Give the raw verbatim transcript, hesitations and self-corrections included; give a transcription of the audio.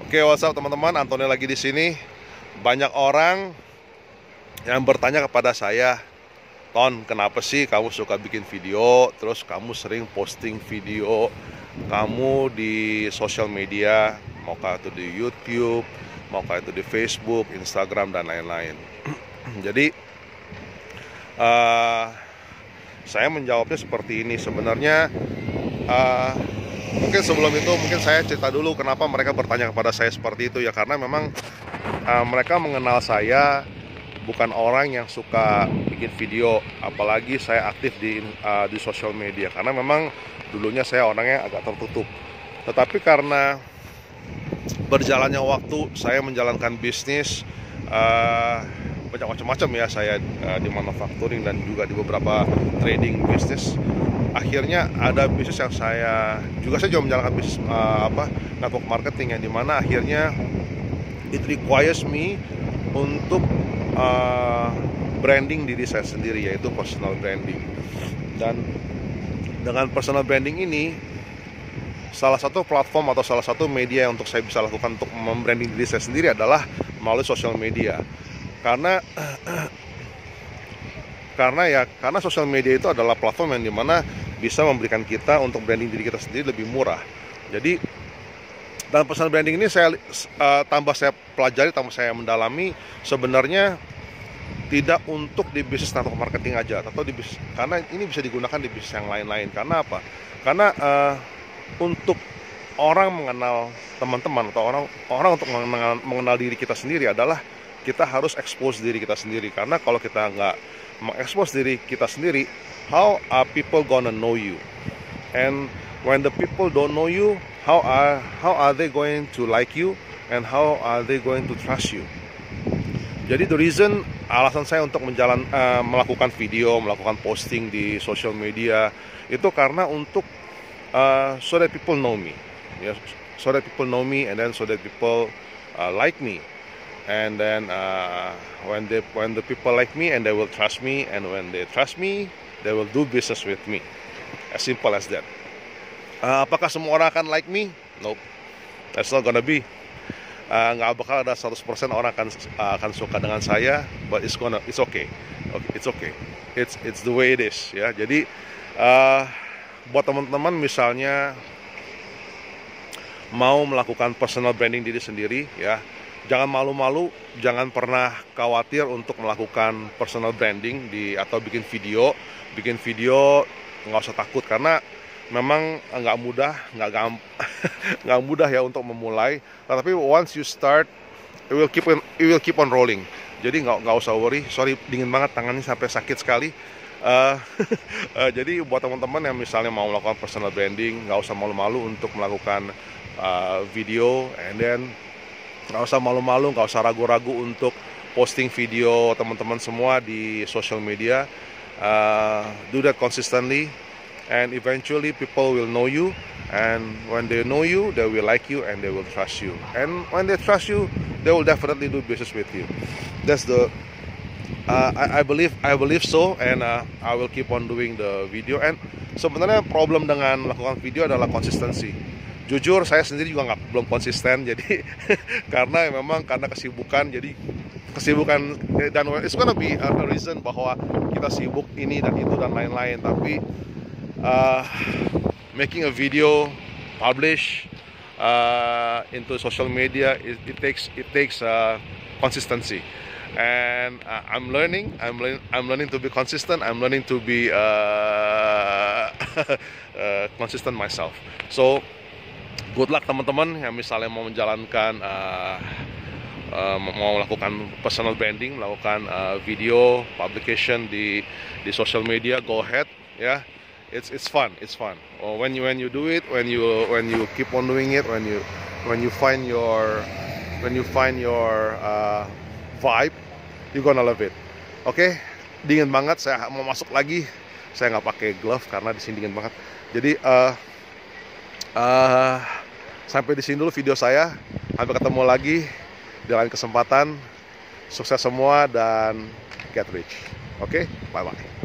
Oke, what's up teman-teman, Antoni lagi di sini. Banyak orang yang bertanya kepada saya, Ton, kenapa sih kamu suka bikin video, terus kamu sering posting video kamu di sosial media, maukah itu di YouTube, maukah itu di Facebook, Instagram, dan lain-lain. Jadi, uh, saya menjawabnya seperti ini. Sebenarnya, uh, mungkin sebelum itu, mungkin saya cerita dulu kenapa mereka bertanya kepada saya seperti itu ya. Karena memang uh, mereka mengenal saya bukan orang yang suka bikin video, apalagi saya aktif di uh, di sosial media. Karena memang dulunya saya orangnya agak tertutup. Tetapi karena berjalannya waktu, saya menjalankan bisnis uh, banyak macam-macam ya. Saya uh, di manufacturing dan juga di beberapa trading bisnis. Akhirnya ada bisnis yang saya juga saya juga menjalankan bisnis uh, apa network marketing, yang dimana akhirnya it requires me untuk uh, branding diri saya sendiri, yaitu personal branding. Dan dengan personal branding ini, salah satu platform atau salah satu media yang untuk saya bisa lakukan untuk membranding diri saya sendiri adalah melalui sosial media. Karena karena ya karena sosial media itu adalah platform yang dimana bisa memberikan kita untuk branding diri kita sendiri lebih murah. Jadi dalam personal branding ini saya uh, tambah saya pelajari, tambah saya mendalami, sebenarnya tidak untuk di bisnis network marketing aja, atau di bisnis, karena ini bisa digunakan di bisnis yang lain-lain. Karena apa? Karena uh, untuk orang mengenal teman-teman atau orang orang untuk mengenal, mengenal diri kita sendiri adalah kita harus expose diri kita sendiri. Karena kalau kita nggak mengekspos diri kita sendiri, how are people gonna know you? And when the people don't know you, how are how are they going to like you, and how are they going to trust you? Jadi the reason, alasan saya untuk menjalan uh, melakukan video, melakukan posting di social media itu karena untuk uh, so that people know me, ya, so that people know me, and then so that people uh, like me. And then uh, when they when the people like me, and they will trust me, and when they trust me, they will do business with me. As simple as that. Uh, apakah semua orang akan like me? Nope, that's not gonna be. Uh, nggak bakal ada seratus persen orang akan uh, akan suka dengan saya, but it's gonna it's okay. Okay, it's okay. It's it's the way it is, ya. Jadi uh, buat teman-teman misalnya mau melakukan personal branding diri sendiri, ya, jangan malu-malu, jangan pernah khawatir untuk melakukan personal branding di atau bikin video, bikin video nggak usah takut, karena memang nggak mudah, nggak gamp, nggak mudah ya untuk memulai. Tapi once you start, it will keep on, it will keep on rolling. Jadi nggak nggak usah worry. Sorry, dingin banget tangannya sampai sakit sekali. Uh, uh, jadi buat teman-teman yang misalnya mau melakukan personal branding, nggak usah malu-malu untuk melakukan uh, video, and then nggak usah malu-malu, nggak usah ragu-ragu untuk posting video teman-teman semua di social media. Uh, do that consistently, and eventually people will know you, and when they know you, they will like you, and they will trust you, and when they trust you, they will definitely do business with you. That's the uh, I, I believe I believe so, and uh, I will keep on doing the video. And sebenarnya problem dengan melakukan video adalah konsistensi. Jujur saya sendiri juga nggak belum konsisten, jadi karena memang karena kesibukan, jadi kesibukan, dan it's gonna be a reason bahwa kita sibuk ini dan itu dan lain-lain. Tapi uh, making a video, publish uh, into social media, it, it takes it takes uh, consistency, and uh, I'm learning, I'm learning, I'm learning to be consistent. I'm learning to be uh, uh, consistent myself. So good luck teman-teman yang misalnya mau menjalankan uh, uh, mau melakukan personal branding, melakukan uh, video publication di di social media. Go ahead, ya. It's it's fun, it's fun. Or when you when you do it, when you when you keep on doing it, when you when you find your when you find your uh, vibe, you're gonna love it. Oke, okay? Dingin banget, saya mau masuk lagi. Saya nggak pakai glove karena di sini dingin banget. Jadi uh, uh, sampai di sini dulu video saya. Sampai ketemu lagi di lain kesempatan. Sukses semua dan get rich. Oke, okay? Bye bye.